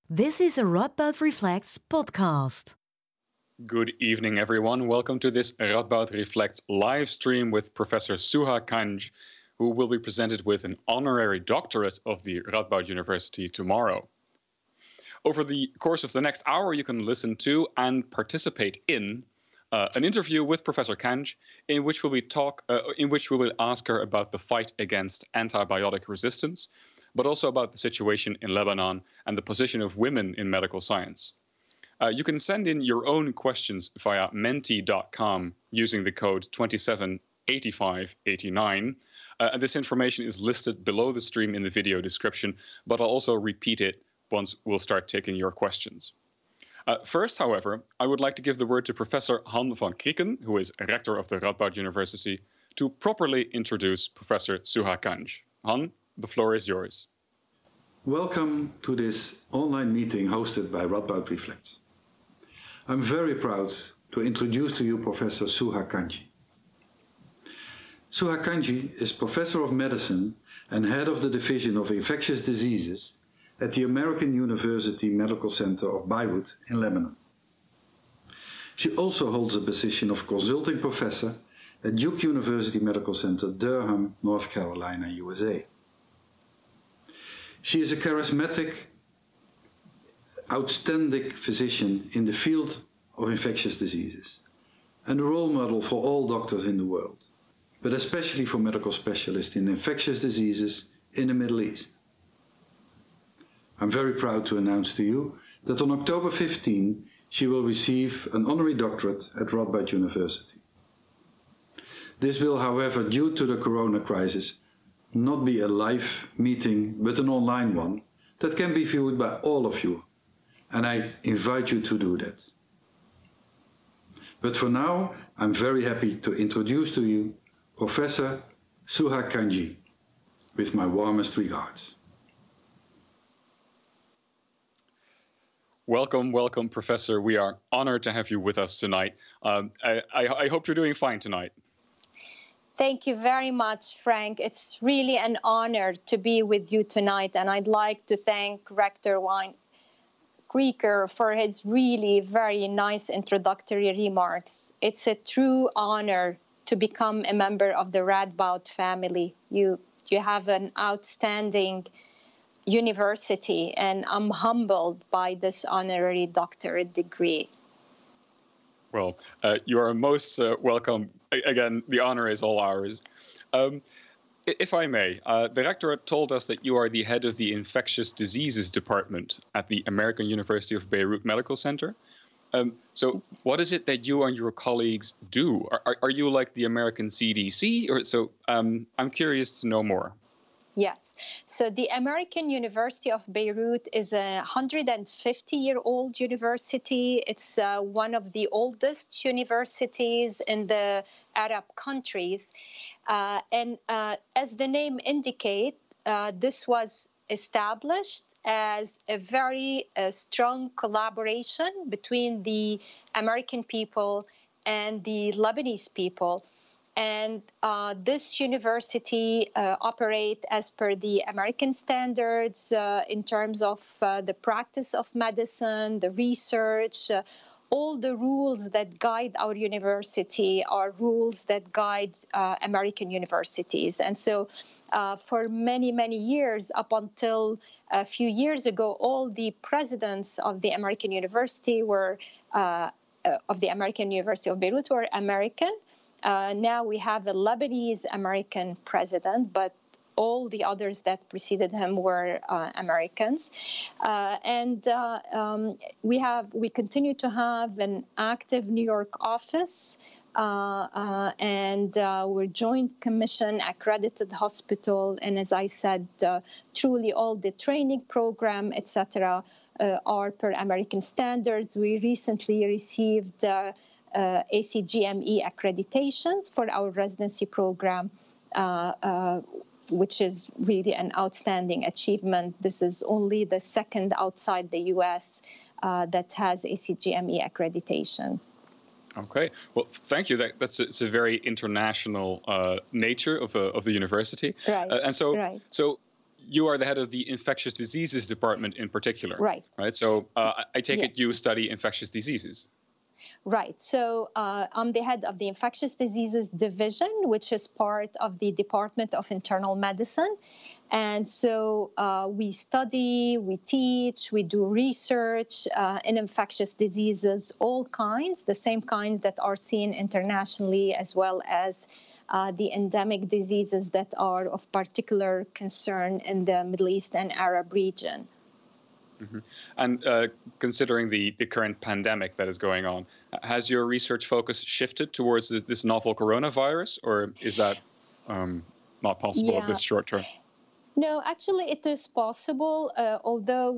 This is a Radboud Reflects podcast. Good evening, everyone. Welcome to this Radboud Reflects live stream with Professor Suha Kanj, who will be presented with an honorary doctorate of the Radboud University tomorrow. Over the course of the next hour, you can listen to and participate in an interview with Professor Kanj, in which we will ask her about the fight against antibiotic resistance, but also about the situation in Lebanon and the position of women in medical science. You can send in your own questions via menti.com using the code 278589. And this information is listed below the stream in the video description, but I'll also repeat it once we'll start taking your questions. First, however, I would like to give the word to Professor Han van Krieken, who is rector of the Radboud University, to properly introduce Professor Suha Kanj. Han, the floor is yours. Welcome to this online meeting hosted by Radboud Reflects. I'm very proud to introduce to you Professor Suha Kanj. Suha Kanj is Professor of Medicine and Head of the Division of Infectious Diseases at the American University Medical Center of Beirut in Lebanon. She also holds the position of Consulting Professor at Duke University Medical Center, Durham, North Carolina, USA. She is a charismatic, outstanding physician in the field of infectious diseases and a role model for all doctors in the world, but especially for medical specialists in infectious diseases in the Middle East. I'm very proud to announce to you that on October 15, she will receive an honorary doctorate at Radboud University. This will, however, due to the corona crisis, not be a live meeting, but an online one that can be viewed by all of you, and I invite you to do that. But for now, I'm very happy to introduce to you Professor Suha Kanj, with my warmest regards. Welcome, Professor. We are honored to have you with us tonight. I hope you're doing fine tonight. Thank you very much, Frank. It's really an honor to be with you tonight, and I'd like to thank Rector Krieger for his really very nice introductory remarks. It's a true honor to become a member of the Radboud family. You have an outstanding university, and I'm humbled by this honorary doctorate degree. Well, you are most welcome. Again, the honor is all ours. If I may, the rectorate told us that you are the head of the Infectious Diseases Department at the American University of Beirut Medical Center. So what is it that you and your colleagues do? Are you like the American CDC? I'm curious to know more. Yes. So the American University of Beirut is a 150-year-old university. It's one of the oldest universities in the Arab countries. And as the name indicates, this was established as a very strong collaboration between the American people and the Lebanese people. And this university operates as per the American standards in terms of the practice of medicine, the research, all the rules that guide our university are rules that guide American universities. And so for many, many years, up until a few years ago, all the presidents of the American University of the American University of Beirut were American. Now we have a Lebanese-American president, but all the others that preceded him were Americans. We continue to have an active New York office, and we're Joint Commission accredited hospital. And as I said, truly all the training program, etc., are per American standards. We recently received ACGME accreditations for our residency program, which is really an outstanding achievement. This is only the second outside the U.S. That has ACGME accreditation. Okay, well, thank you. It's a very international nature of the university, right? So you are the head of the infectious diseases department in particular. Right. So I take it you study infectious diseases. Right. So I'm the head of the Infectious Diseases Division, which is part of the Department of Internal Medicine. And so we study, we teach, we do research in infectious diseases, all kinds, the same kinds that are seen internationally, as well as the endemic diseases that are of particular concern in the Middle East and Arab region. Mm-hmm. And considering the current pandemic that is going on, has your research focus shifted towards this novel coronavirus, or is that not possible at this short term? No, actually, it is possible, although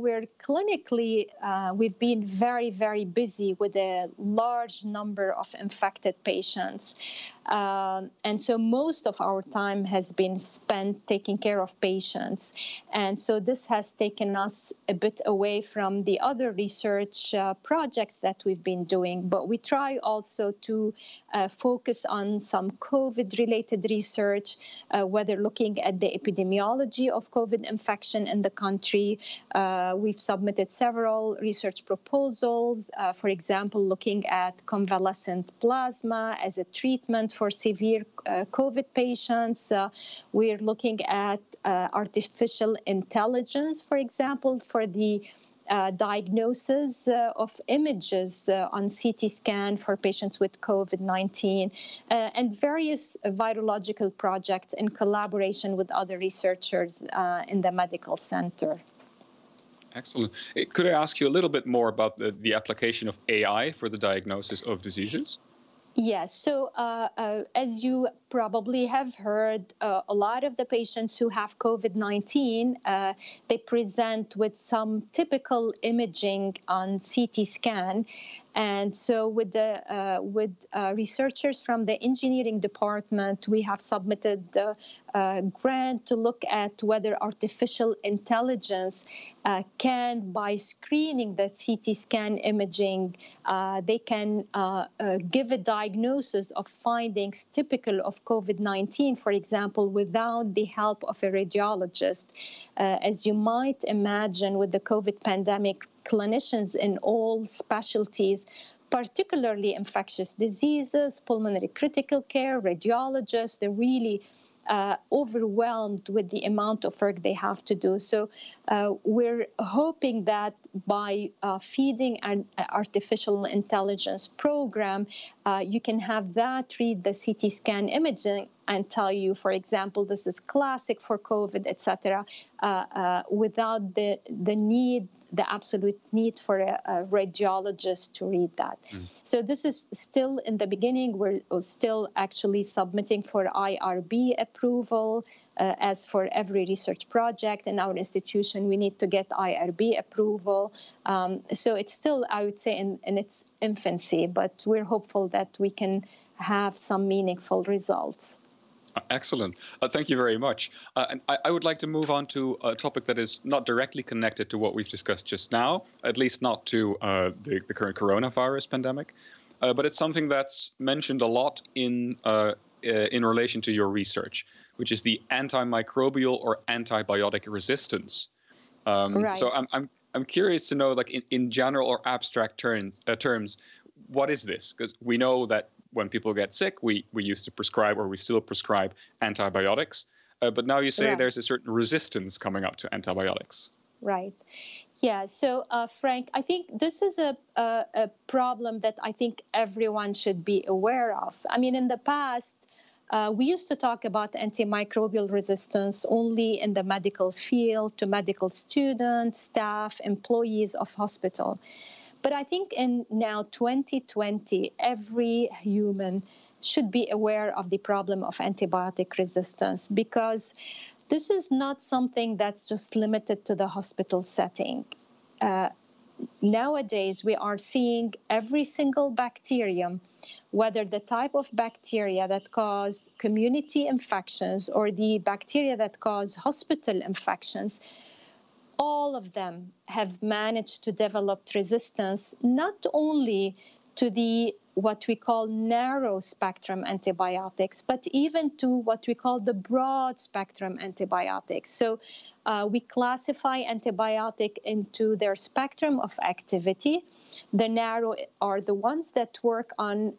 we've been very, very busy with a large number of infected patients. And so most of our time has been spent taking care of patients. And so this has taken us a bit away from the other research projects that we've been doing. But we try also to focus on some COVID-related research, whether looking at the epidemiology of COVID infection in the country. We've submitted several research proposals, for example, looking at convalescent plasma as a treatment for severe COVID patients. We're looking at artificial intelligence, for example, for the diagnosis of images on CT scan for patients with COVID-19, and various virological projects in collaboration with other researchers in the medical center. Excellent. Could I ask you a little bit more about the application of AI for the diagnosis of diseases? Yes. So as you probably have heard, a lot of the patients who have COVID-19, they present with some typical imaging on CT scan. And so with researchers from the engineering department, we have submitted a grant to look at whether artificial intelligence can, by screening the CT scan imaging, they can give a diagnosis of findings typical of COVID-19, for example, without the help of a radiologist. As you might imagine, with the COVID pandemic, clinicians in all specialties, particularly infectious diseases, pulmonary critical care, radiologists, they're really overwhelmed with the amount of work they have to do. So we're hoping that by feeding an artificial intelligence program, you can have that read the CT scan imaging and tell you, for example, this is classic for COVID, etc., without the absolute need for a radiologist to read that. So this is still in the beginning. We're still actually submitting for IRB approval. As for every research project in our institution, we need to get IRB approval. So it's still, I would say, in its infancy, but we're hopeful that we can have some meaningful results. Excellent. Thank you very much. And I would like to move on to a topic that is not directly connected to what we've discussed just now, at least not to the current coronavirus pandemic. But it's something that's mentioned a lot in relation to your research, which is the antimicrobial or antibiotic resistance. Right. So I'm curious to know, like in general or abstract terms, what is this? Because we know that when people get sick, we used to prescribe, or we still prescribe, antibiotics. But now you say there's a certain resistance coming up to antibiotics. Right. Yeah. So, Frank, I think this is a problem that I think everyone should be aware of. I mean, in the past, we used to talk about antimicrobial resistance only in the medical field, to medical students, staff, employees of hospital. But I think in now 2020, every human should be aware of the problem of antibiotic resistance, because this is not something that's just limited to the hospital setting. Nowadays, we are seeing every single bacterium, whether the type of bacteria that cause community infections or the bacteria that cause hospital infections, all of them have managed to develop resistance not only to the what we call narrow spectrum antibiotics, but even to what we call the broad spectrum antibiotics. So we classify antibiotic into their spectrum of activity. The narrow are the ones that work on,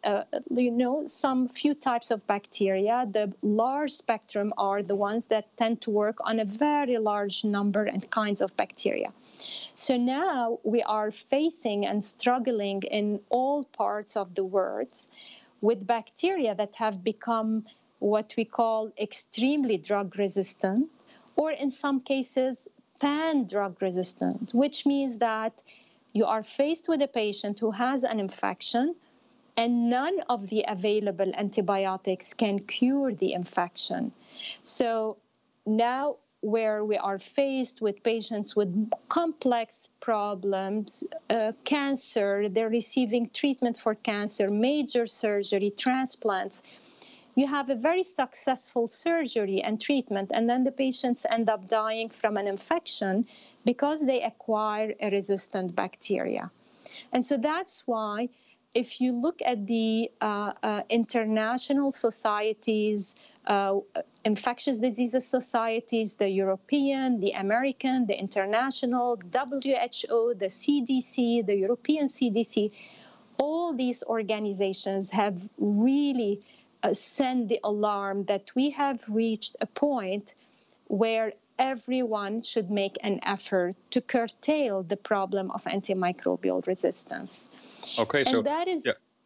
some few types of bacteria. The large spectrum are the ones that tend to work on a very large number and kinds of bacteria. So now we are facing and struggling in all parts of the world with bacteria that have become what we call extremely drug resistant, or in some cases, pan-drug resistant, which means that you are faced with a patient who has an infection and none of the available antibiotics can cure the infection. So now where we are faced with patients with complex problems, cancer, they're receiving treatment for cancer, major surgery, transplants. You have a very successful surgery and treatment, and then the patients end up dying from an infection because they acquire a resistant bacteria. And so that's why if you look at the international societies, infectious diseases societies, the European, the American, the international, WHO, the CDC, the European CDC, all these organizations have really sent the alarm that we have reached a point where everyone should make an effort to curtail the problem of antimicrobial resistance. Okay, so and that is,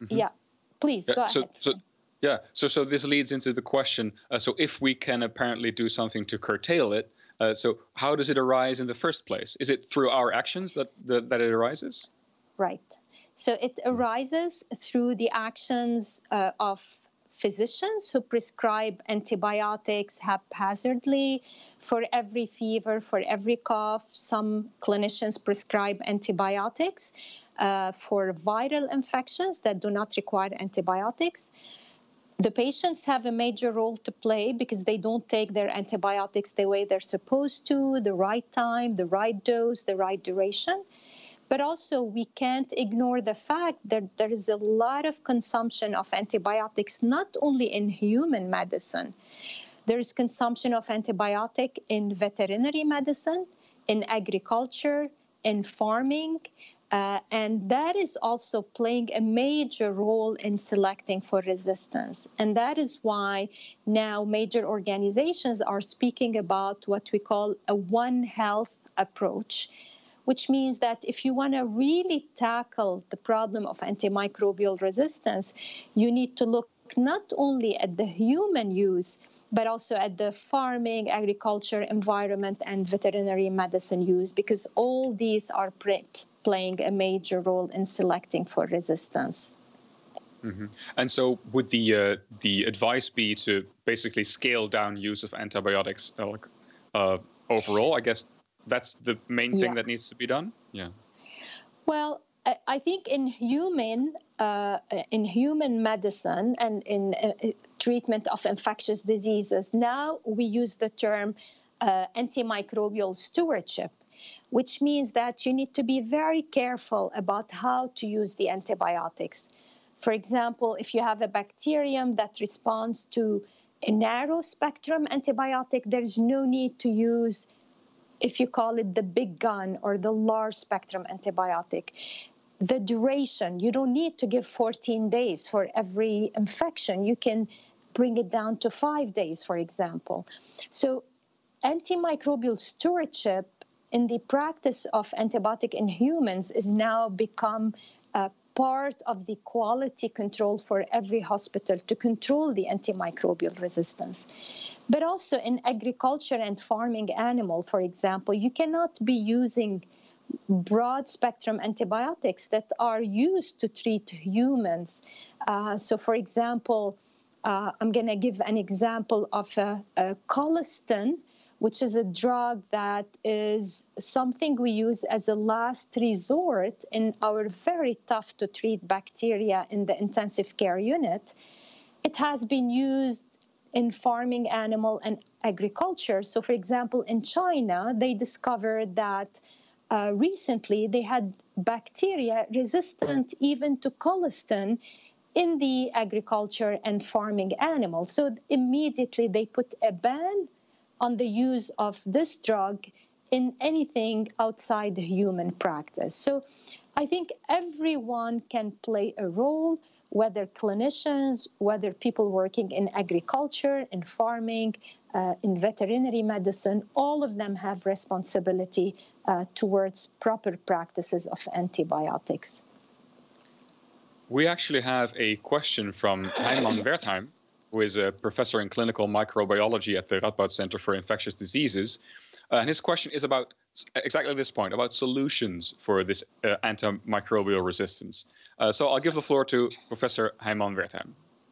please go ahead. So this leads into the question. So if we can apparently do something to curtail it, so how does it arise in the first place? Is it through our actions that it arises? Right. So it arises through the actions of physicians who prescribe antibiotics haphazardly for every fever, for every cough. Some clinicians prescribe antibiotics for viral infections that do not require antibiotics. The patients have a major role to play because they don't take their antibiotics the way they're supposed to, the right time, the right dose, the right duration. But also, we can't ignore the fact that there is a lot of consumption of antibiotics, not only in human medicine. There is consumption of antibiotic in veterinary medicine, in agriculture, in farming, and that is also playing a major role in selecting for resistance. And that is why now major organizations are speaking about what we call a One Health approach, which means that if you want to really tackle the problem of antimicrobial resistance, you need to look not only at the human use, but also at the farming, agriculture, environment, and veterinary medicine use, because all these are playing a major role in selecting for resistance. Mm-hmm. And so would the advice be to basically scale down use of antibiotics overall? I guess that's the main thing that needs to be done? Yeah. Well, I think in human medicine and in treatment of infectious diseases, now we use the term antimicrobial stewardship, which means that you need to be very careful about how to use the antibiotics. For example, if you have a bacterium that responds to a narrow spectrum antibiotic, there is no need to use, if you call it the big gun or the large spectrum antibiotic. The duration, you don't need to give 14 days for every infection. You can bring it down to 5 days, for example. So antimicrobial stewardship in the practice of antibiotic in humans is now become a part of the quality control for every hospital to control the antimicrobial resistance. But also in agriculture and farming animal, for example, you cannot be using broad spectrum antibiotics that are used to treat humans. So, for example, I'm going to give an example of colistin, which is a drug that is something we use as a last resort in our very tough to treat bacteria in the intensive care unit. It has been used in farming animal and agriculture. So, for example, in China, they discovered that recently they had bacteria resistant even to colistin in the agriculture and farming animals. So immediately they put a ban on the use of this drug in anything outside the human practice. So I think everyone can play a role, whether clinicians, whether people working in agriculture, in farming, in veterinary medicine, all of them have responsibility towards proper practices of antibiotics. We actually have a question from Heimann Wertheim, who is a professor in clinical microbiology at the Radboud Center for Infectious Diseases. And his question is about exactly this point, about solutions for this antimicrobial resistance. So I'll give the floor to Professor Heimann Wertheim.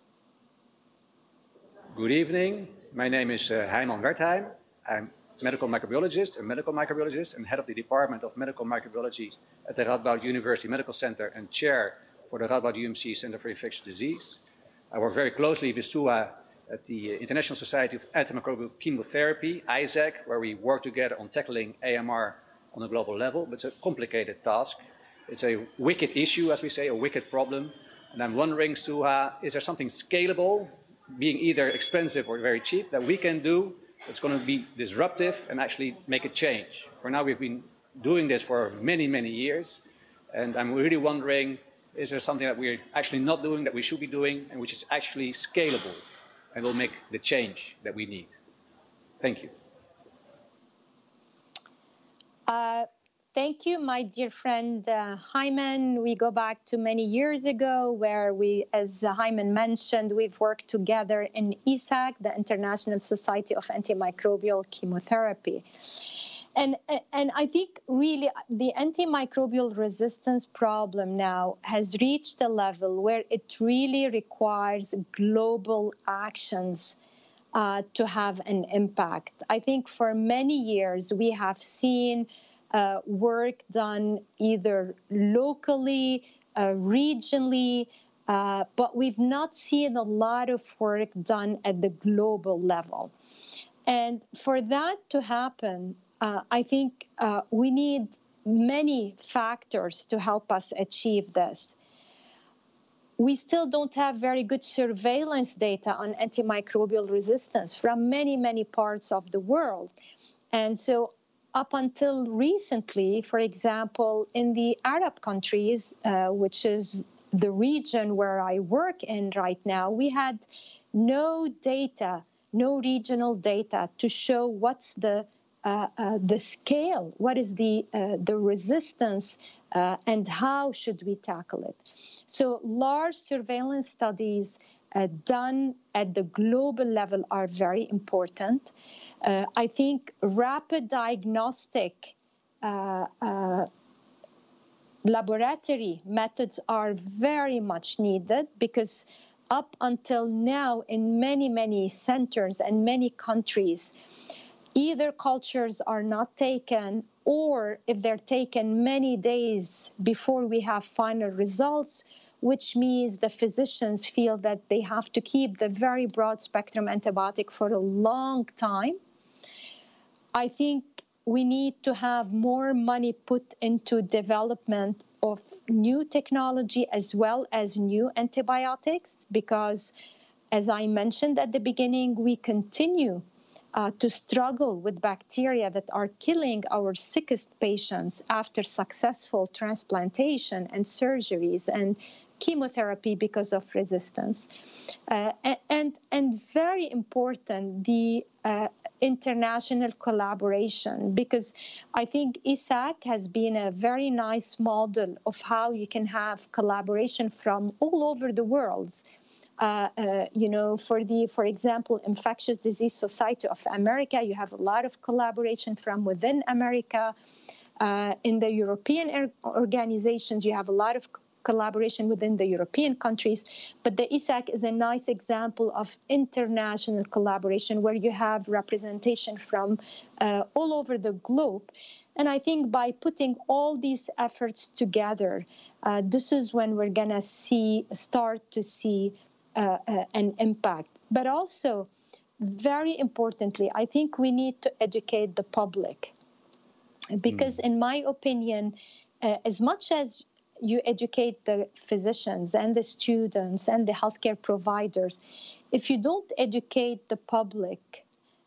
Good evening. My name is Heimann Wertheim. I'm a medical microbiologist and head of the Department of Medical Microbiology at the Radboud University Medical Center and chair for the Radboud UMC Center for Infectious Disease. I work very closely with Suha at the International Society of Antimicrobial Chemotherapy, ISAC, where we work together on tackling AMR on a global level. But it's a complicated task. It's a wicked issue, as we say, a wicked problem. And I'm wondering, Suha, is there something scalable, being either expensive or very cheap, that we can do that's going to be disruptive and actually make a change? For now, we've been doing this for many, many years. And I'm really wondering, is there something that we're actually not doing that we should be doing and which is actually scalable and will make the change that we need? Thank you. Thank you, my dear friend Heimann. We go back to many years ago where we, as Heimann mentioned, we've worked together in ISAC, the International Society of Antimicrobial Chemotherapy. And I think really the antimicrobial resistance problem now has reached a level where it really requires global actions to have an impact. I think for many years we have seen work done either locally, regionally, but we've not seen a lot of work done at the global level. And for that to happen, I think we need many factors to help us achieve this. We still don't have very good surveillance data on antimicrobial resistance from many, many parts of the world. And so up until recently, for example, in the Arab countries, which is the region where I work in right now, we had no data, no regional data to show what's the scale, what is the resistance, and how should we tackle it. So large surveillance studies done at the global level are very important. I think rapid diagnostic laboratory methods are very much needed because up until now in many, many centers and many countries, either cultures are not taken, or if they're taken many days before we have final results, which means the physicians feel that they have to keep the very broad spectrum antibiotic for a long time. I think we need to have more money put into development of new technology as well as new antibiotics, because as I mentioned at the beginning, we continue to struggle with bacteria that are killing our sickest patients after successful transplantation and surgeries and chemotherapy because of resistance. And very important, the international collaboration, because I think ISAC has been a very nice model of how you can have collaboration from all over the world. For example, Infectious Disease Society of America, you have a lot of collaboration from within America. In the European organizations, you have a lot of collaboration within the European countries. But the ISAC is a nice example of international collaboration where you have representation from all over the globe. And I think by putting all these efforts together, this is when we're going to start to see an impact. But also, very importantly, I think we need to educate the public. Because in my opinion, as much as you educate the physicians and the students and the healthcare providers, if you don't educate the public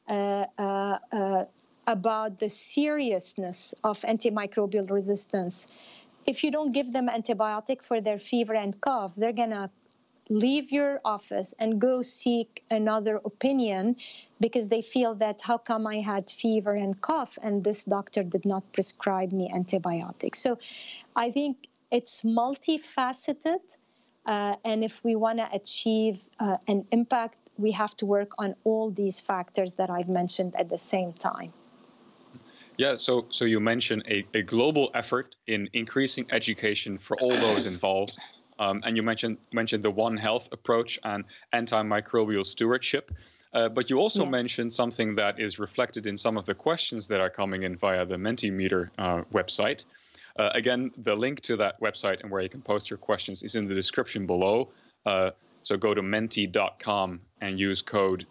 about the seriousness of antimicrobial resistance, if you don't give them antibiotic for their fever and cough, they're going to leave your office and go seek another opinion because they feel that how come I had fever and cough and this doctor did not prescribe me antibiotics. So I think it's multifaceted. And if we want to achieve an impact, we have to work on all these factors that I've mentioned at the same time. Yeah, so you mentioned a global effort in increasing education for all those involved. And you mentioned the One Health approach and antimicrobial stewardship. But you also mentioned something that is reflected in some of the questions that are coming in via the Mentimeter website. Again, the link to that website and where you can post your questions is in the description below. So go to menti.com and use code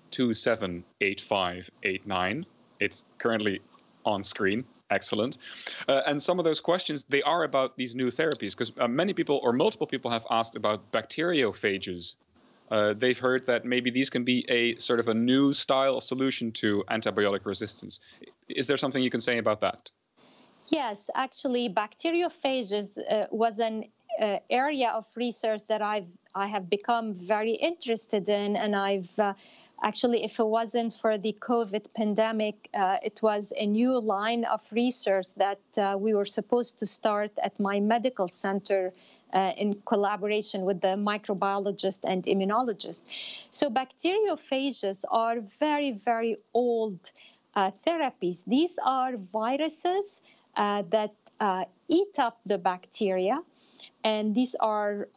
278589. It's currently on screen. Excellent. And some of those questions, they are about these new therapies, because many people or multiple people have asked about bacteriophages. They've heard that maybe these can be a sort of a new style solution to antibiotic resistance. Is there something you can say about that? Yes, actually, bacteriophages was an area of research that I have become very interested in, and I've actually, if it wasn't for the COVID pandemic, it was a new line of research that we were supposed to start at my medical center in collaboration with the microbiologist and immunologist. So bacteriophages are very, very old therapies. These are viruses that eat up the bacteria, and these are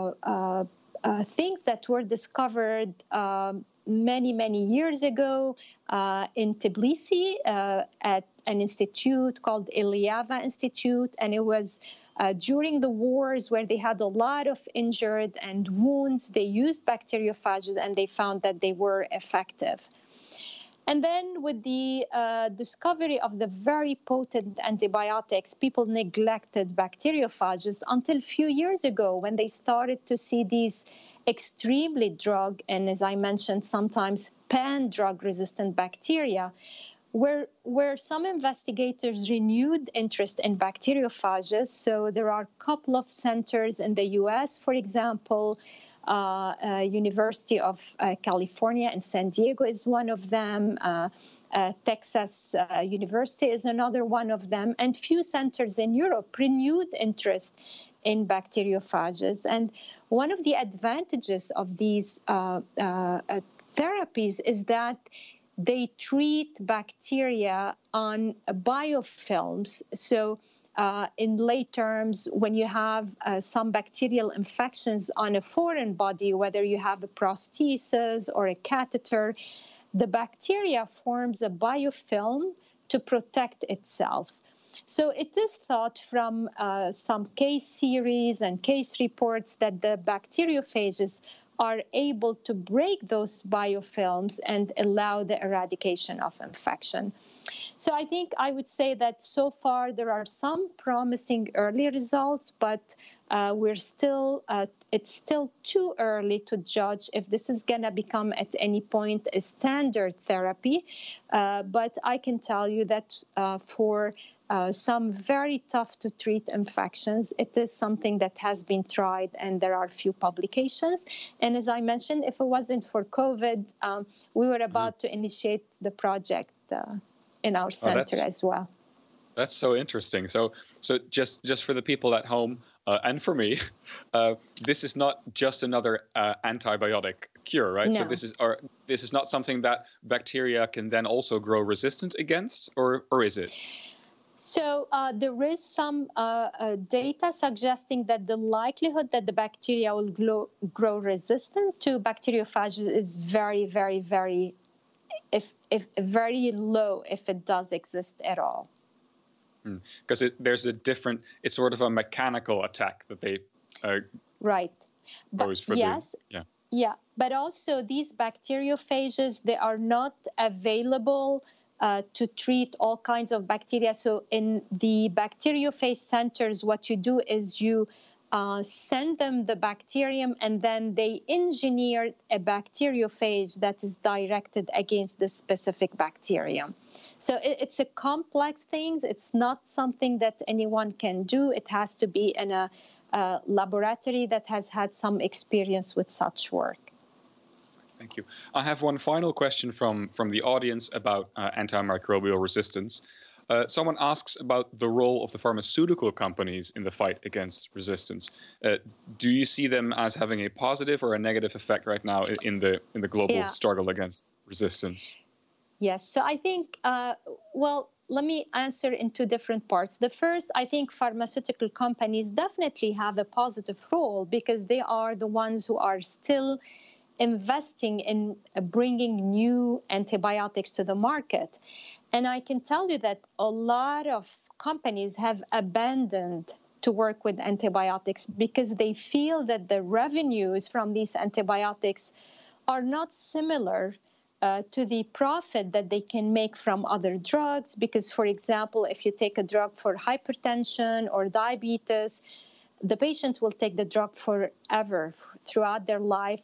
things that were discovered many, many years ago in Tbilisi at an institute called Eliava Institute. And it was during the wars where they had a lot of injured and wounds. They used bacteriophages and they found that they were effective. And then with the discovery of the very potent antibiotics, people neglected bacteriophages until a few years ago when they started to see these extremely drug, and as I mentioned, sometimes pan-drug resistant bacteria, where some investigators renewed interest in bacteriophages. So there are a couple of centers in the US, for example, University of California in San Diego is one of them. Texas University is another one of them. And few centers in Europe renewed interest in bacteriophages. And one of the advantages of these therapies is that they treat bacteria on biofilms. So in lay terms, when you have some bacterial infections on a foreign body, whether you have a prosthesis or a catheter, the bacteria forms a biofilm to protect itself. So it is thought from some case series and case reports that the bacteriophages are able to break those biofilms and allow the eradication of infection. So I think I would say that so far there are some promising early results, but it's still too early to judge if this is going to become at any point a standard therapy. But I can tell you that for some very tough to treat infections, it is something that has been tried, and there are few publications. And as I mentioned, if it wasn't for COVID, we were about to initiate the project in our center as well. That's so interesting. So just for the people at home and for me, this is not just another antibiotic cure, right? No. So this is not something that bacteria can then also grow resistant against, or is it? So there is some data suggesting that the likelihood that the bacteria will grow resistant to bacteriophages is very, very, very, very low if it does exist at all. Because it's sort of a mechanical attack that they right. pose for Yeah, but also these bacteriophages, they are not available to treat all kinds of bacteria. So in the bacteriophage centers, what you do is you send them the bacterium, and then they engineer a bacteriophage that is directed against the specific bacterium. So it's a complex thing. It's not something that anyone can do. It has to be in a laboratory that has had some experience with such work. Thank you. I have one final question from the audience about antimicrobial resistance. Someone asks about the role of the pharmaceutical companies in the fight against resistance. Do you see them as having a positive or a negative effect right now in the global struggle against resistance? Yes. So I think, let me answer in two different parts. The first, I think pharmaceutical companies definitely have a positive role because they are the ones who are still investing in bringing new antibiotics to the market. And I can tell you that a lot of companies have abandoned to work with antibiotics because they feel that the revenues from these antibiotics are not similar to the profit that they can make from other drugs. Because, for example, if you take a drug for hypertension or diabetes, the patient will take the drug forever, throughout their life.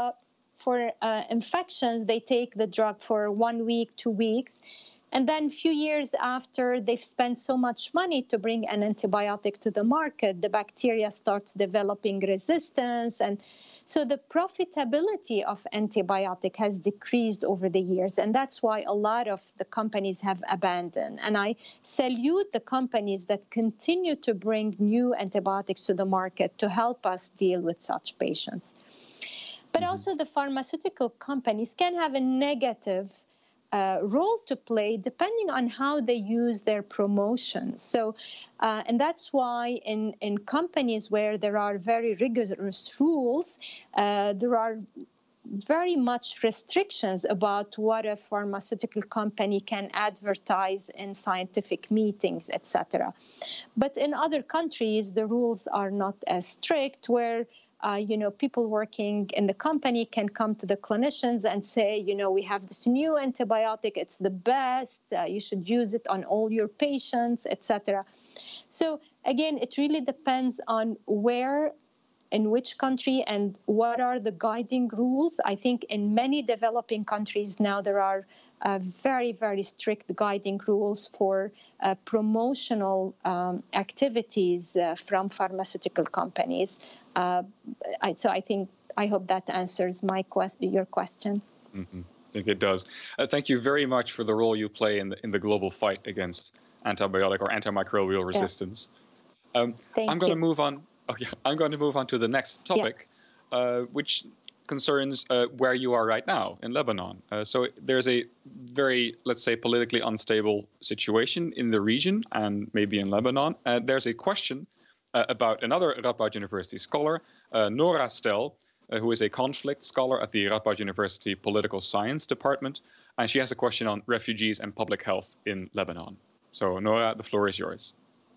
For infections, they take the drug for 1 week, 2 weeks. And then a few years after they've spent so much money to bring an antibiotic to the market, the bacteria starts developing resistance. And so the profitability of antibiotic has decreased over the years. And that's why a lot of the companies have abandoned. And I salute the companies that continue to bring new antibiotics to the market to help us deal with such patients. But also the pharmaceutical companies can have a negative role to play depending on how they use their promotion. So, and that's why in companies where there are very rigorous rules, there are very much restrictions about what a pharmaceutical company can advertise in scientific meetings, etc. But in other countries, the rules are not as strict, where people working in the company can come to the clinicians and say, we have this new antibiotic, it's the best, you should use it on all your patients, etc. So again, it really depends on where, in which country, and what are the guiding rules. I think in many developing countries now there are very, very strict guiding rules for promotional activities from pharmaceutical companies. So I hope that answers your question. Mm-hmm. I think it does. Thank you very much for the role you play in the global fight against antibiotic or antimicrobial resistance. I'm going to move on. I'm going to move on to the next topic, which concerns where you are right now in Lebanon. So there's a very, let's say, politically unstable situation in the region and maybe in Lebanon. There's a question about another Radboud University scholar, Nora Stel, who is a conflict scholar at the Radboud University Political Science Department. And she has a question on refugees and public health in Lebanon. So, Nora, the floor is yours.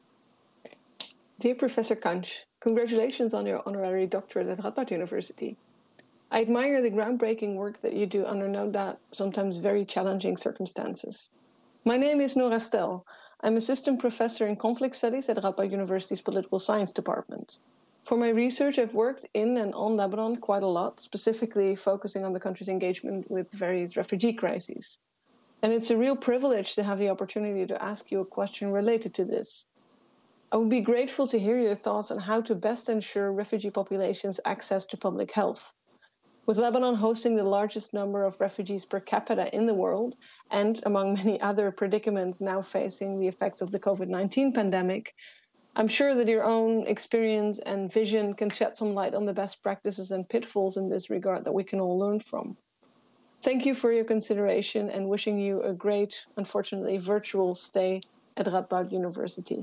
Dear Professor Kanj, congratulations on your honorary doctorate at Radboud University. I admire the groundbreaking work that you do under no doubt sometimes very challenging circumstances. My name is Nora Stel. I'm assistant professor in conflict studies at Radboud University's Political Science Department. For my research, I've worked in and on Lebanon quite a lot, specifically focusing on the country's engagement with various refugee crises. And it's a real privilege to have the opportunity to ask you a question related to this. I would be grateful to hear your thoughts on how to best ensure refugee populations' access to public health. With Lebanon hosting the largest number of refugees per capita in the world, and among many other predicaments now facing the effects of the COVID-19 pandemic, I'm sure that your own experience and vision can shed some light on the best practices and pitfalls in this regard that we can all learn from. Thank you for your consideration and wishing you a great, unfortunately, virtual stay at Radboud University.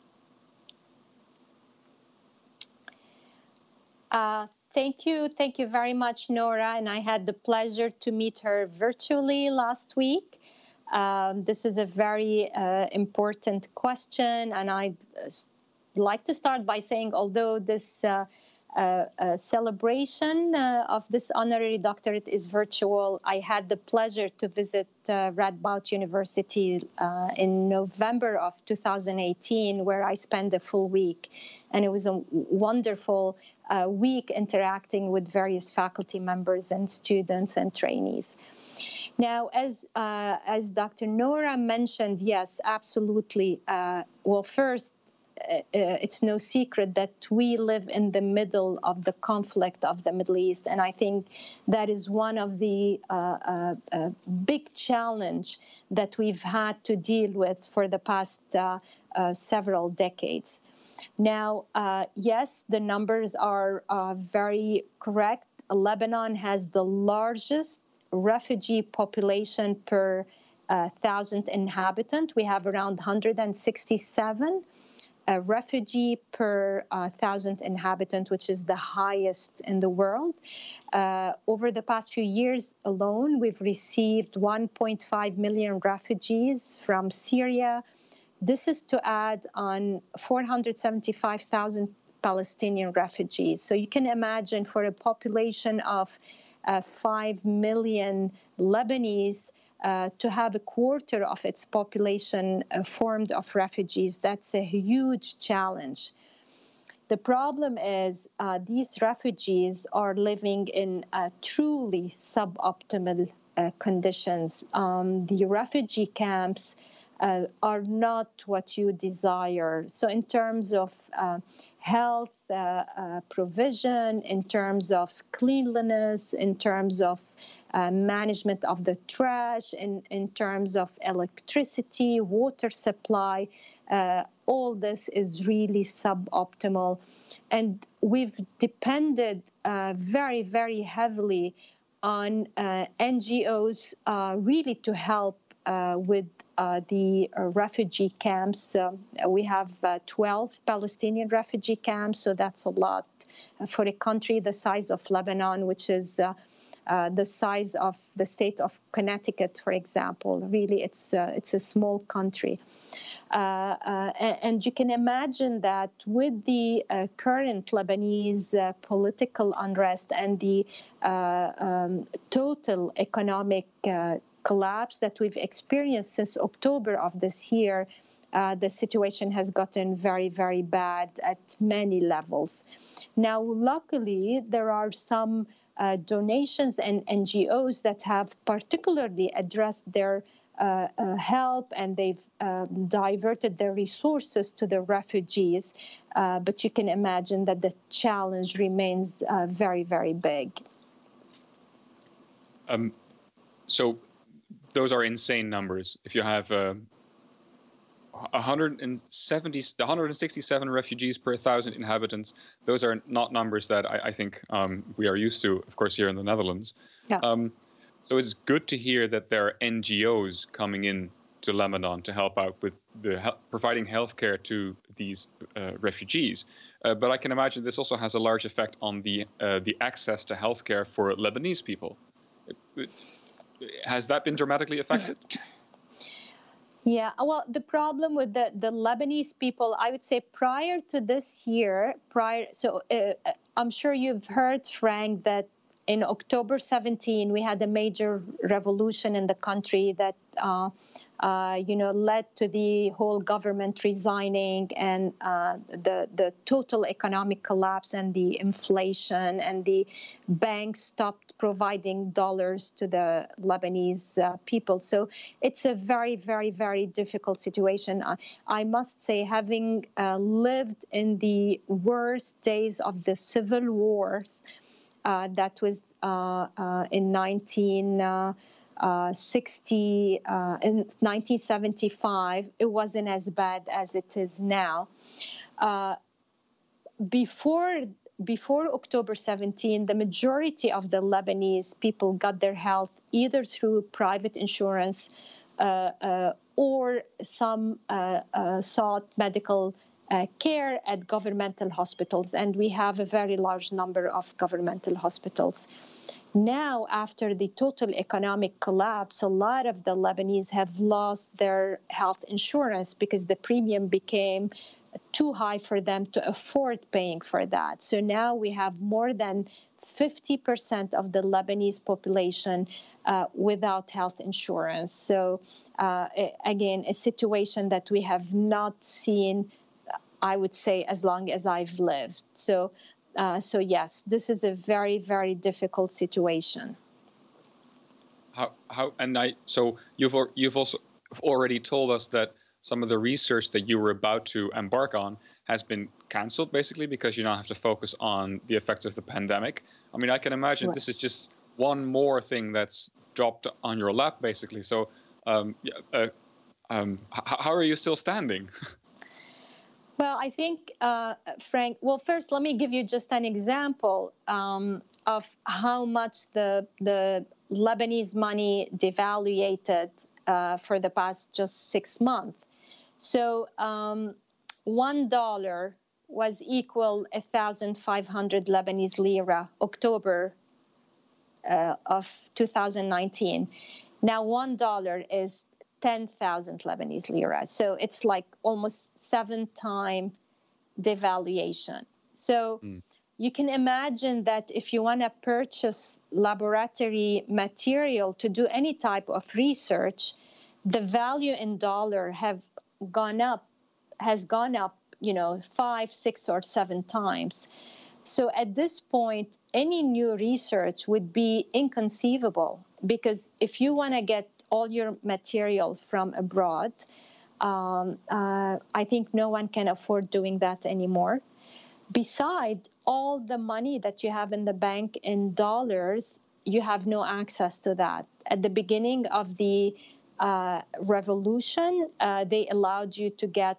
Thank you. Thank you very much, Nora. And I had the pleasure to meet her virtually last week. This is a very important question. And I'd like to start by saying, although this celebration of this honorary doctorate is virtual. I had the pleasure to visit Radboud University in November of 2018, where I spent a full week. And it was a wonderful week interacting with various faculty members and students and trainees. Now, as Dr. Nora mentioned, yes, absolutely. Well, first, it's no secret that we live in the middle of the conflict of the Middle East. And I think that is one of the big challenge that we've had to deal with for the past several decades. Now, yes, the numbers are very correct. Lebanon has the largest refugee population per 1,000 inhabitants. We have around 167 refugee per 1,000 inhabitants, which is the highest in the world. Over the past few years alone, we've received 1.5 million refugees from Syria. This is to add on 475,000 Palestinian refugees. So you can imagine for a population of 5 million Lebanese, to have a quarter of its population formed of refugees, that's a huge challenge. The problem is these refugees are living in truly suboptimal conditions. The refugee camps are not what you desire. So in terms of health provision, in terms of cleanliness, in terms of management of the trash, in terms of electricity, water supply, all this is really suboptimal. And we've depended very, very heavily on NGOs really to help with the refugee camps. We have 12 Palestinian refugee camps, so that's a lot for a country the size of Lebanon, which is the size of the state of Connecticut, for example. Really, it's a small country. And you can imagine that with the current Lebanese political unrest and the total economic collapse that we've experienced since October of this year, the situation has gotten very, very bad at many levels. Now, luckily, there are some donations and NGOs that have particularly addressed their help, and they've diverted their resources to the refugees. But you can imagine that the challenge remains very, very big. So those are insane numbers. If you have 167 refugees per 1,000 inhabitants, those are not numbers that I think we are used to, of course, here in the Netherlands. Yeah. So it's good to hear that there are NGOs coming in to Lebanon to help out with providing healthcare to these refugees. But I can imagine this also has a large effect on the access to healthcare for Lebanese people. Has that been dramatically affected? Yeah, well, the problem with the Lebanese people, I would say prior to this year, I'm sure you've heard, Frank, that in October 17, we had a major revolution in the country that led to the whole government resigning and the total economic collapse and the inflation, and the banks stopped providing dollars to the Lebanese people. So it's a very, very, very difficult situation. I must say, having lived in the worst days of the civil wars, that was in 1975, it wasn't as bad as it is now. Before October 17, the majority of the Lebanese people got their health either through private insurance or some sought medical care at governmental hospitals, and we have a very large number of governmental hospitals. Now, after the total economic collapse, a lot of the Lebanese have lost their health insurance because the premium became too high for them to afford paying for that. So now we have more than 50% of the Lebanese population without health insurance. So again, a situation that we have not seen, I would say, as long as I've lived. So yes, this is a very, very difficult situation. So you've also already told us that some of the research that you were about to embark on has been cancelled, basically, because you now have to focus on the effects of the pandemic. I mean, I can imagine This is just one more thing that's dropped on your lap, basically. So how are you still standing? Well, I think, Frank, well, first, let me give you just an example of how much the Lebanese money devaluated for the past just 6 months. So $1 was equal 1,500 Lebanese lira, October of 2019. Now $1 is 10,000 Lebanese lira. So it's like almost 7-time devaluation. So you can imagine that if you want to purchase laboratory material to do any type of research, the value in dollar has gone up, 5, 6, or 7 times. So at this point, any new research would be inconceivable, because if you want to get all your material from abroad, I think no one can afford doing that anymore. Besides, all the money that you have in the bank in dollars, you have no access to that. At the beginning of the revolution, they allowed you to get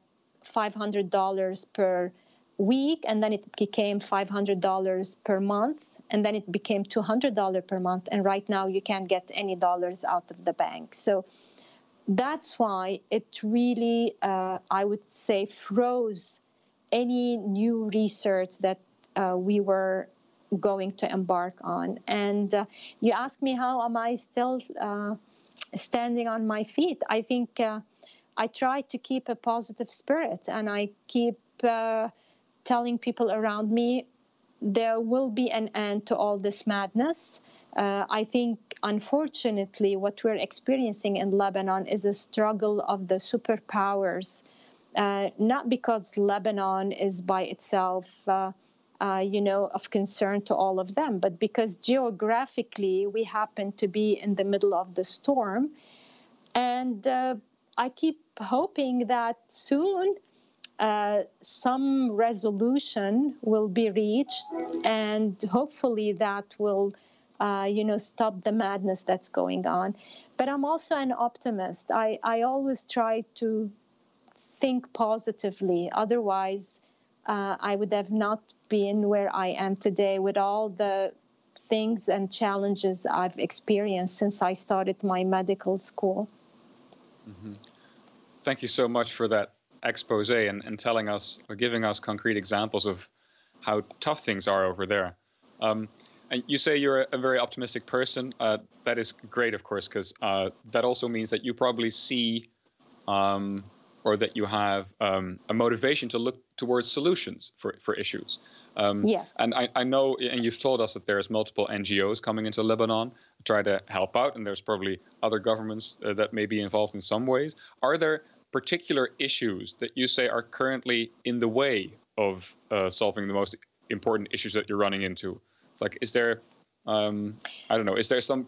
$500 per week, and then it became $500 per month, and then it became $200 per month, and right now you can't get any dollars out of the bank. So that's why it really, I would say, froze any new research that we were going to embark on. And you asked me, how am I still standing on my feet? I think I try to keep a positive spirit, and I keep telling people around me there will be an end to all this madness. I think, unfortunately, what we're experiencing in Lebanon is a struggle of the superpowers, not because Lebanon is by itself, of concern to all of them, but because geographically we happen to be in the middle of the storm. And I keep hoping that soon some resolution will be reached, and hopefully that will, stop the madness that's going on. But I'm also an optimist. I always try to think positively. Otherwise, I would have not been where I am today with all the things and challenges I've experienced since I started my medical school. Mm-hmm. Thank you so much for that expose and telling us, or giving us concrete examples of how tough things are over there. And you say you're a very optimistic person. That is great, of course, because that also means that you probably see or that you have a motivation to look towards solutions for issues. Yes. And I know, and you've told us that there's multiple NGOs coming into Lebanon to try to help out, and there's probably other governments that may be involved in some ways. Are there particular issues that you say are currently in the way of solving the most important issues that you're running into? It's like, is there, is there some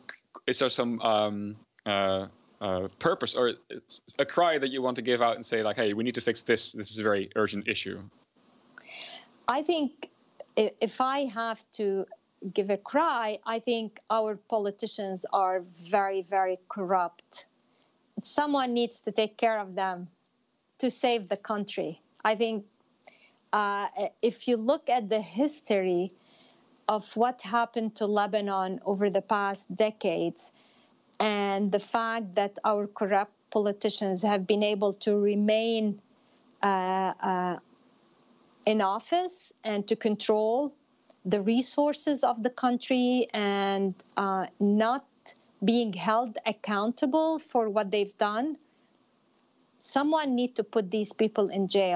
purpose or a cry that you want to give out and say, like, hey, we need to fix this. This is a very urgent issue. I think if I have to give a cry, I think our politicians are very, very corrupt. Someone needs to take care of them to save the country. I think if you look at the history of what happened to Lebanon over the past decades, and the fact that our corrupt politicians have been able to remain in office and to control the resources of the country and not being held accountable for what they've done, someone needs to put these people in jail.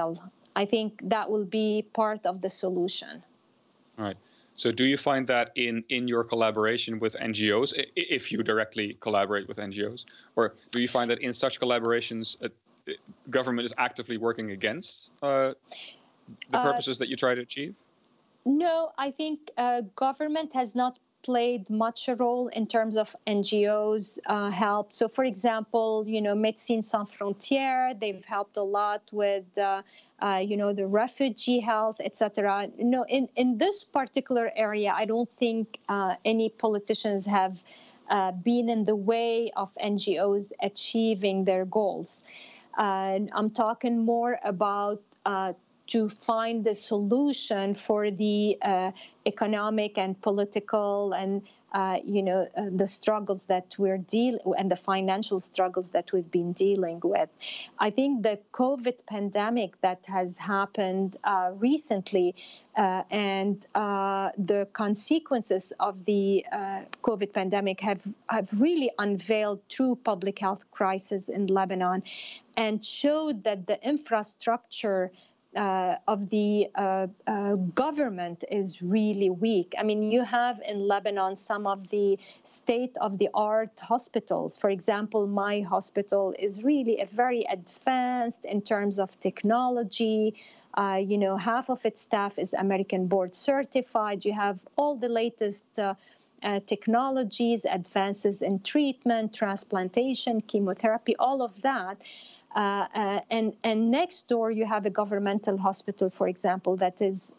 I think that will be part of the solution. All right. So do you find that in your collaboration with NGOs, if you directly collaborate with NGOs, or do you find that in such collaborations, government is actively working against the purposes that you try to achieve? No, I think government has not played much a role in terms of NGOs help. So, for example, Médecins Sans Frontières, they've helped a lot with, the refugee health, etc. No, in this particular area, I don't think any politicians have been in the way of NGOs achieving their goals. I'm talking more about to find the solution for the economic and political and the struggles that we're and the financial struggles that we've been dealing with. I think the COVID pandemic that has happened recently and the consequences of the COVID pandemic have really unveiled true public health crisis in Lebanon and showed that the infrastructure of the government is really weak. I mean, you have in Lebanon some of the state-of-the-art hospitals. For example, my hospital is really very advanced in terms of technology. Half of its staff is American board certified. You have all the latest technologies, advances in treatment, transplantation, chemotherapy, all of that. And next door you have a governmental hospital, for example, that is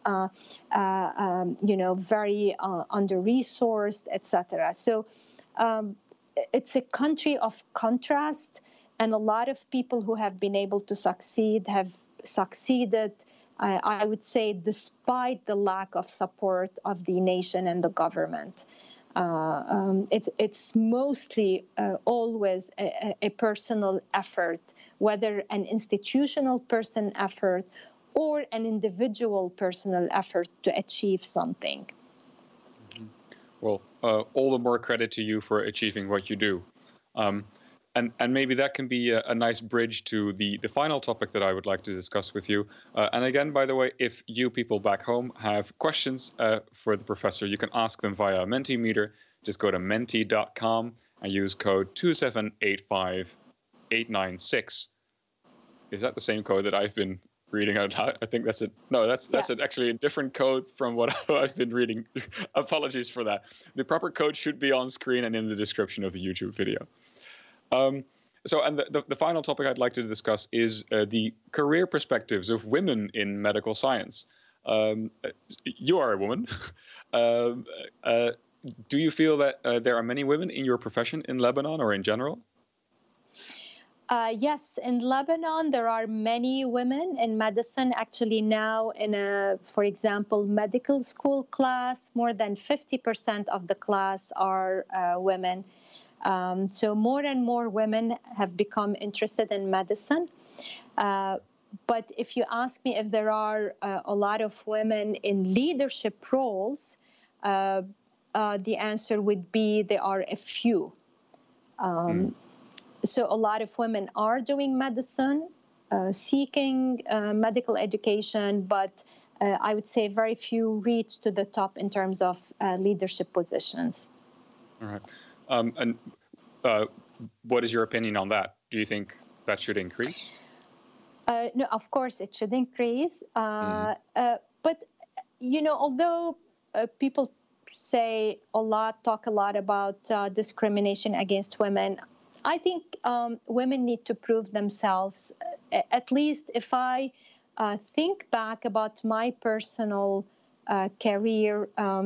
very under-resourced, etc. So it's a country of contrast, and a lot of people who have been able to succeed have succeeded, I would say, despite the lack of support of the nation and the government. It's mostly always a personal effort, whether an institutional person effort or an individual personal effort to achieve something. Mm-hmm. Well, all the more credit to you for achieving what you do. And maybe that can be a nice bridge to the final topic that I would like to discuss with you. And again, by the way, if you people back home have questions for the professor, you can ask them via Mentimeter. Just go to menti.com and use code 2785896. Is that the same code that I've been reading out loud? I think that's it. No, that's actually a different code from what I've been reading. Apologies for that. The proper code should be on screen and in the description of the YouTube video. So the final topic I'd like to discuss is the career perspectives of women in medical science. You are a woman. Do you feel that there are many women in your profession in Lebanon or in general? Yes, in Lebanon, there are many women in medicine. Actually, now in for example, medical school class, more than 50% of the class are women. So more and more women have become interested in medicine. But if you ask me if there are a lot of women in leadership roles, the answer would be there are a few. So a lot of women are doing medicine, seeking medical education, but I would say very few reach to the top in terms of leadership positions. All right. And what is your opinion on that? Do you think that should increase? No, of course it should increase. But, although people talk a lot about discrimination against women, I think women need to prove themselves. At least if I think back about my personal career,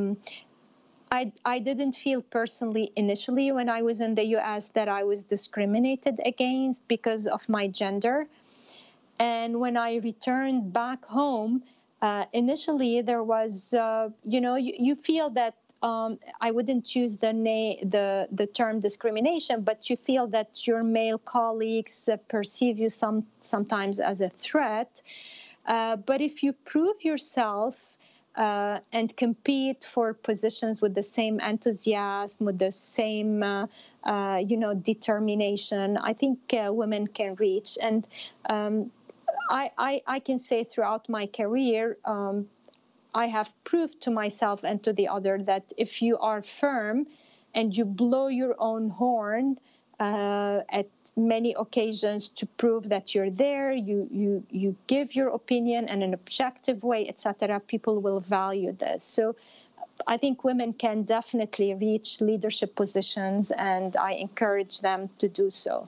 I didn't feel personally initially when I was in the U.S. that I was discriminated against because of my gender. And when I returned back home, initially there was, you feel that I wouldn't use the term discrimination, but you feel that your male colleagues perceive you sometimes as a threat. But if you prove yourself and compete for positions with the same enthusiasm, with the same, determination, I think women can reach. And I can say throughout my career, I have proved to myself and to the other that if you are firm and you blow your own horn at many occasions to prove that you're there, you give your opinion in an objective way, etc., people will value this. So I think women can definitely reach leadership positions, and I encourage them to do so.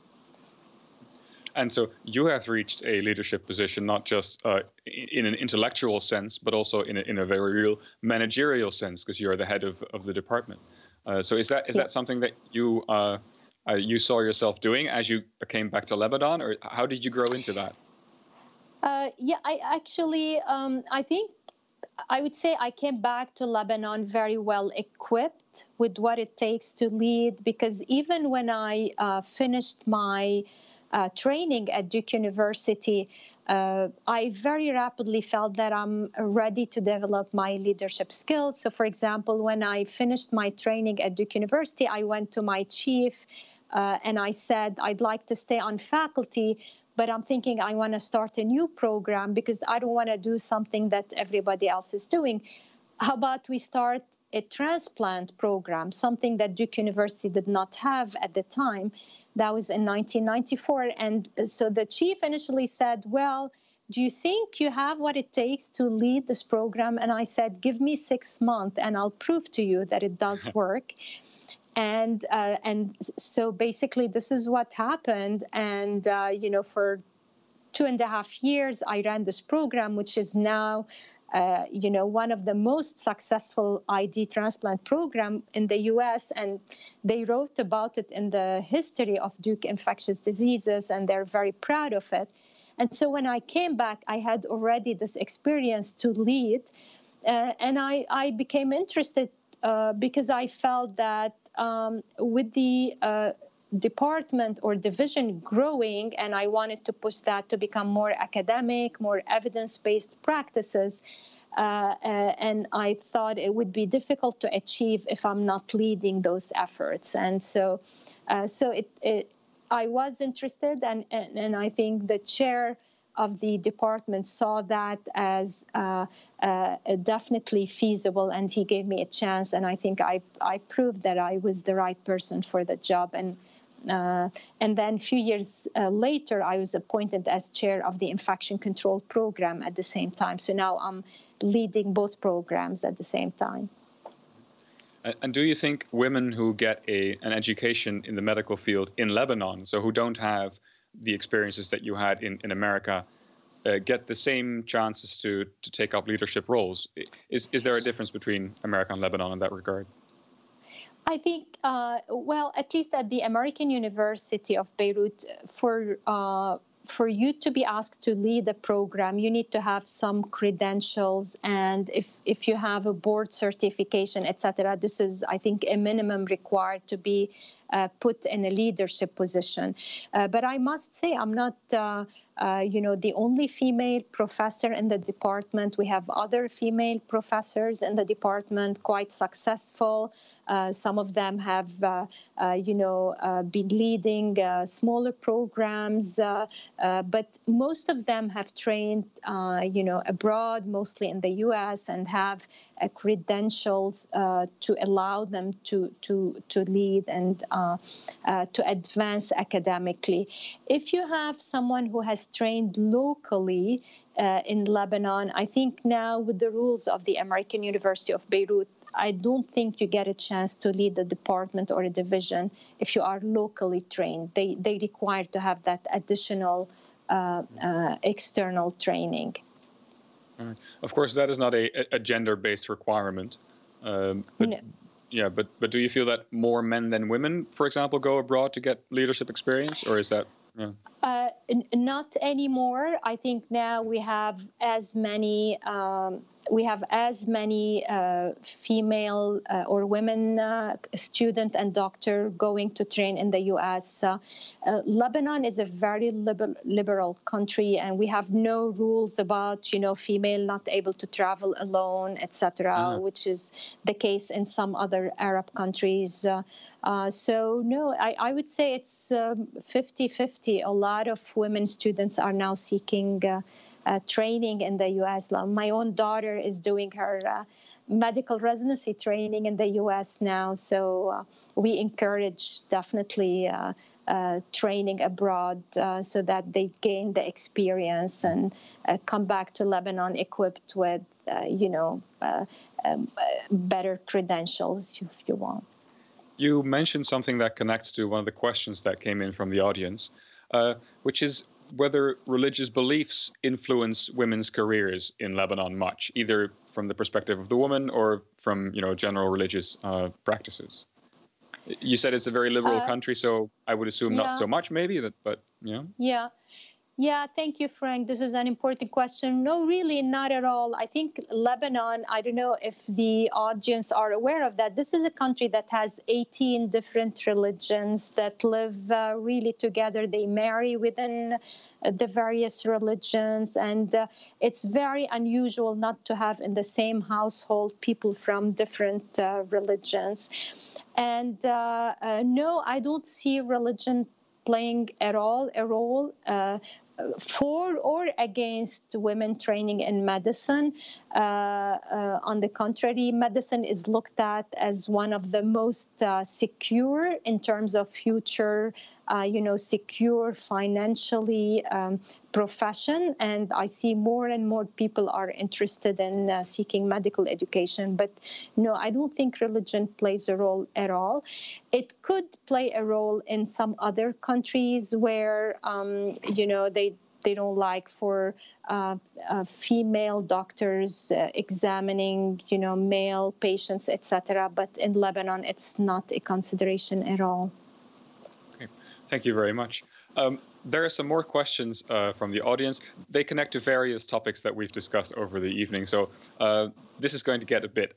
And so you have reached a leadership position, not just in an intellectual sense, but also in a very real managerial sense, because you're the head of the department. So is that something that you saw yourself doing as you came back to Lebanon, or how did you grow into that? I actually, I think I would say I came back to Lebanon very well equipped with what it takes to lead, because even when I finished my training at Duke University, I very rapidly felt that I'm ready to develop my leadership skills. So, for example, when I finished my training at Duke University, I went to my chief and I said, I'd like to stay on faculty, but I'm thinking I want to start a new program because I don't want to do something that everybody else is doing. How about we start a transplant program, something that Duke University did not have at the time? That was in 1994. And so the chief initially said, well, do you think you have what it takes to lead this program? And I said, give me 6 months and I'll prove to you that it does work. And so basically this is what happened. And, for 2.5 years, I ran this program, which is now one of the most successful ID transplant program in the U.S., and they wrote about it in the history of Duke Infectious Diseases, and they're very proud of it. And so when I came back, I had already this experience to lead, and I became interested because I felt that with the department or division growing, and I wanted to push that to become more academic, more evidence-based practices. And I thought it would be difficult to achieve if I'm not leading those efforts. And so I was interested, and I think the chair of the department saw that as definitely feasible, and he gave me a chance, and I think I proved that I was the right person for the job. And then a few years later, I was appointed as chair of the infection control program at the same time. So now I'm leading both programs at the same time. And do you think women who get an education in the medical field in Lebanon, so who don't have the experiences that you had in America, get the same chances to take up leadership roles? Is there a difference between America and Lebanon in that regard? I think, at least at the American University of Beirut, for you to be asked to lead a program, you need to have some credentials. And if you have a board certification, etc., this is, I think, a minimum required to be put in a leadership position. But I must say, I'm not, the only female professor in the department. We have other female professors in the department, quite successful. Some of them have, been leading smaller programs, but most of them have trained, abroad, mostly in the U.S., and have credentials to allow them to lead and to advance academically. If you have someone who has trained locally in Lebanon, I think now with the rules of the American University of Beirut, I don't think you get a chance to lead a department or a division if you are locally trained. They require to have that additional external training. Of course, that is not a gender-based requirement. No. Yeah, but do you feel that more men than women, for example, go abroad to get leadership experience, or is that? Yeah. Not anymore. I think now we have as many we have as many female or women student and doctor going to train in the U.S. Lebanon is a very liberal country, and we have no rules about, female not able to travel alone, etc., which is the case in some other Arab countries. So, no, I would say it's 50-50. A lot of women students are now seeking training in the U.S. My own daughter is doing her medical residency training in the U.S. now. So we encourage definitely training abroad so that they gain the experience and come back to Lebanon equipped with, better credentials, if you want. You mentioned something that connects to one of the questions that came in from the audience, which is whether religious beliefs influence women's careers in Lebanon much, either from the perspective of the woman or from, general religious practices. You said it's a very liberal country, so I would assume not so much, maybe, but. Yeah, thank you, Frank. This is an important question. No, really, not at all. I think Lebanon, I don't know if the audience are aware of that. This is a country that has 18 different religions that live really together. They marry within the various religions. And it's very unusual not to have in the same household people from different religions. And no, I don't see religion playing at all a role for or against women training in medicine. On the contrary, medicine is looked at as one of the most secure in terms of future, secure financially profession. And I see more and more people are interested in seeking medical education. But no, I don't think religion plays a role at all. It could play a role in some other countries where, they don't like for female doctors examining, male patients, etc. But in Lebanon, it's not a consideration at all. Okay, thank you very much. There are some more questions from the audience. They connect to various topics that we've discussed over the evening. So this is going to get a bit,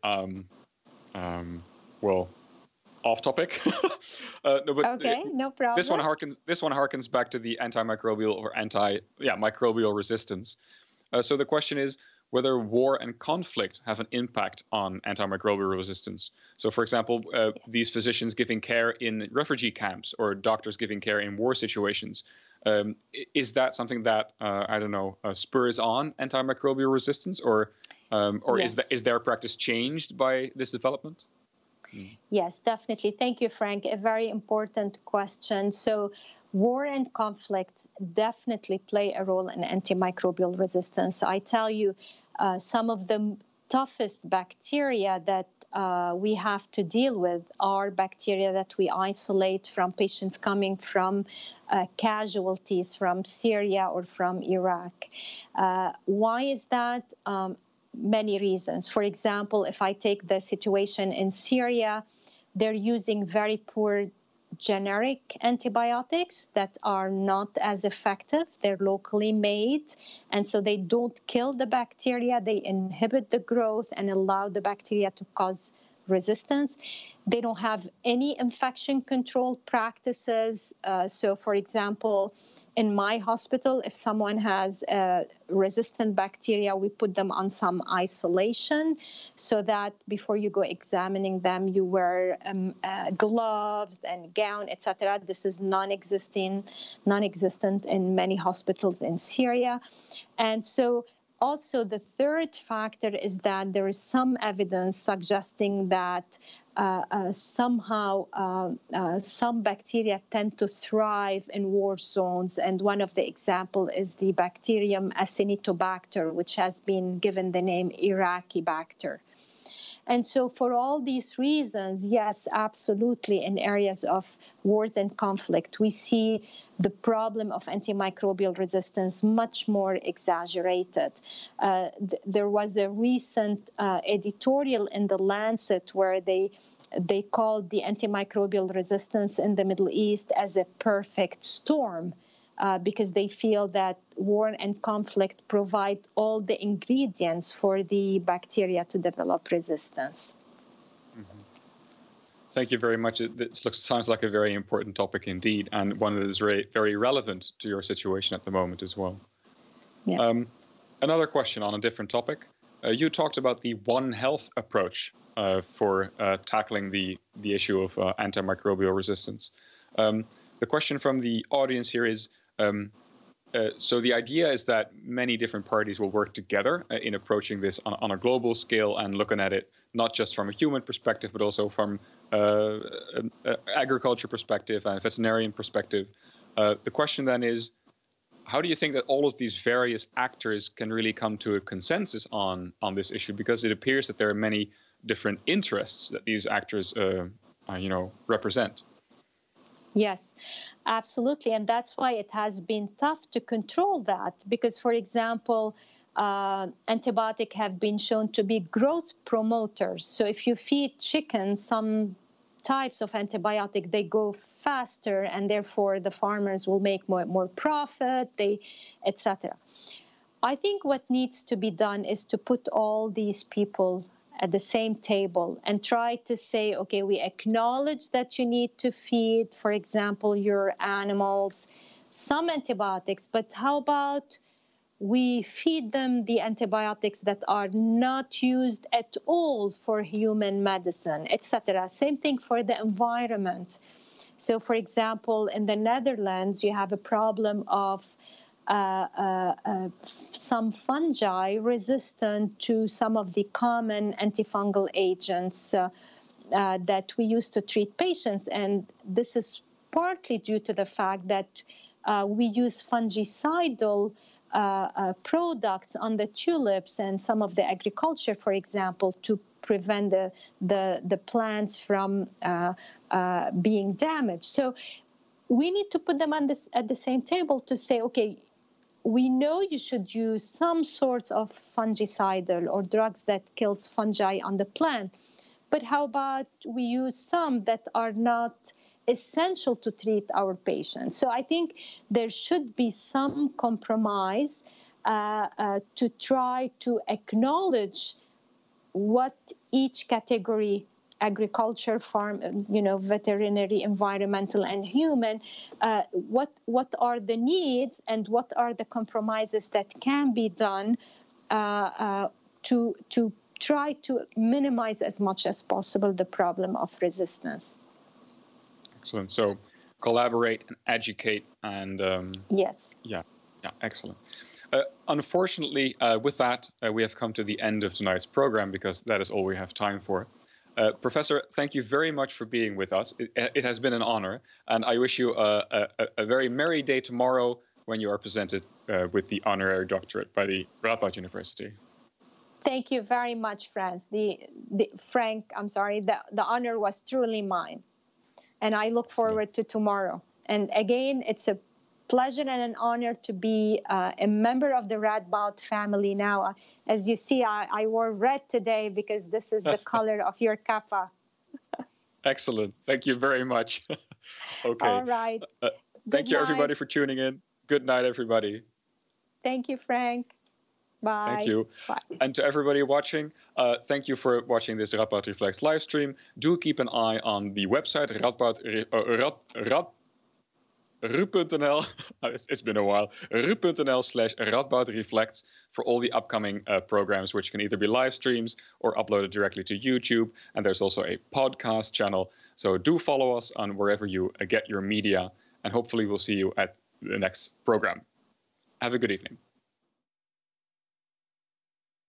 off topic. Okay, no problem. This one harkens back to the antimicrobial or microbial resistance. So the question is whether war and conflict have an impact on antimicrobial resistance. So, for example, these physicians giving care in refugee camps or doctors giving care in war situations. Is that something that spurs on antimicrobial resistance, or yes. is their practice changed by this development? Yes, definitely. Thank you, Frank. A very important question. So war and conflict definitely play a role in antimicrobial resistance. I tell you, some of the toughest bacteria that we have to deal with are bacteria that we isolate from patients coming from casualties from Syria or from Iraq. Why is that? Many reasons. For example, if I take the situation in Syria, they're using very poor generic antibiotics that are not as effective. They're locally made, and so they don't kill the bacteria. They inhibit the growth and allow the bacteria to cause resistance. They don't have any infection control practices. So, for example, in my hospital, if someone has resistant bacteria, we put them on some isolation so that before you go examining them, you wear gloves and gown, etc. This is non-existent in many hospitals in Syria. And so also the third factor is that there is some evidence suggesting that somehow some bacteria tend to thrive in war zones. And one of the examples is the bacterium Acinetobacter, which has been given the name Iraqi bacter. And so for all these reasons, yes, absolutely, in areas of wars and conflict, we see the problem of antimicrobial resistance much more exaggerated. There was a recent editorial in The Lancet where they called the antimicrobial resistance in the Middle East as a perfect storm. because they feel that war and conflict provide all the ingredients for the bacteria to develop resistance. Mm-hmm. Thank you very much. Sounds like a very important topic indeed, and one that is very relevant to your situation at the moment as well. Yeah. Another question on a different topic. You talked about the One Health approach for tackling the issue of antimicrobial resistance. The question from the audience here is, so the idea is that many different parties will work together in approaching this on a global scale and looking at it not just from a human perspective, but also from agriculture perspective and veterinarian perspective. The question then is, how do you think that all of these various actors can really come to a consensus on this issue? Because it appears that there are many different interests that these actors, represent. Yes, absolutely. And that's why it has been tough to control that. Because, for example, antibiotics have been shown to be growth promoters. So if you feed chickens some types of antibiotic, they go faster, and therefore the farmers will make more profit, etc. I think what needs to be done is to put all these people at the same table and try to say, okay, we acknowledge that you need to feed, for example, your animals some antibiotics, but how about we feed them the antibiotics that are not used at all for human medicine, etc. Same thing for the environment. So, for example, in the Netherlands, you have a problem of some fungi resistant to some of the common antifungal agents that we use to treat patients. And this is partly due to the fact that we use fungicidal products on the tulips and some of the agriculture, for example, to prevent the plants from being damaged. So we need to put them at the same table to say, okay, we know you should use some sorts of fungicidal or drugs that kills fungi on the plant, but how about we use some that are not essential to treat our patients? So I think there should be some compromise to try to acknowledge what each category, agriculture, farm, veterinary, environmental, and human, what are the needs and what are the compromises that can be done to try to minimize as much as possible the problem of resistance. Excellent. So collaborate and educate and yes. Yeah, excellent. Unfortunately, with that, we have come to the end of tonight's program because that is all we have time for. Professor, thank you very much for being with us. It has been an honor, and I wish you a very merry day tomorrow when you are presented with the honorary doctorate by the Radboud University. Thank you very much, Frank. I'm sorry. The honor was truly mine, and I look forward to tomorrow. And again, it's a pleasure and an honor to be a member of the Radboud family now. As you see, I wore red today because this is the color of your kappa. Excellent. Thank you very much. Okay. All right. Thank you, everybody, for tuning in. Good night, everybody. Thank you, Frank. Bye. Thank you. Bye. And to everybody watching, thank you for watching this Radboud Reflects live stream. Do keep an eye on the website, ru.nl, it's been a while, ru.nl/Radboud for all the upcoming programs, which can either be live streams or uploaded directly to YouTube. And there's also a podcast channel. So do follow us on wherever you get your media. And hopefully we'll see you at the next program. Have a good evening.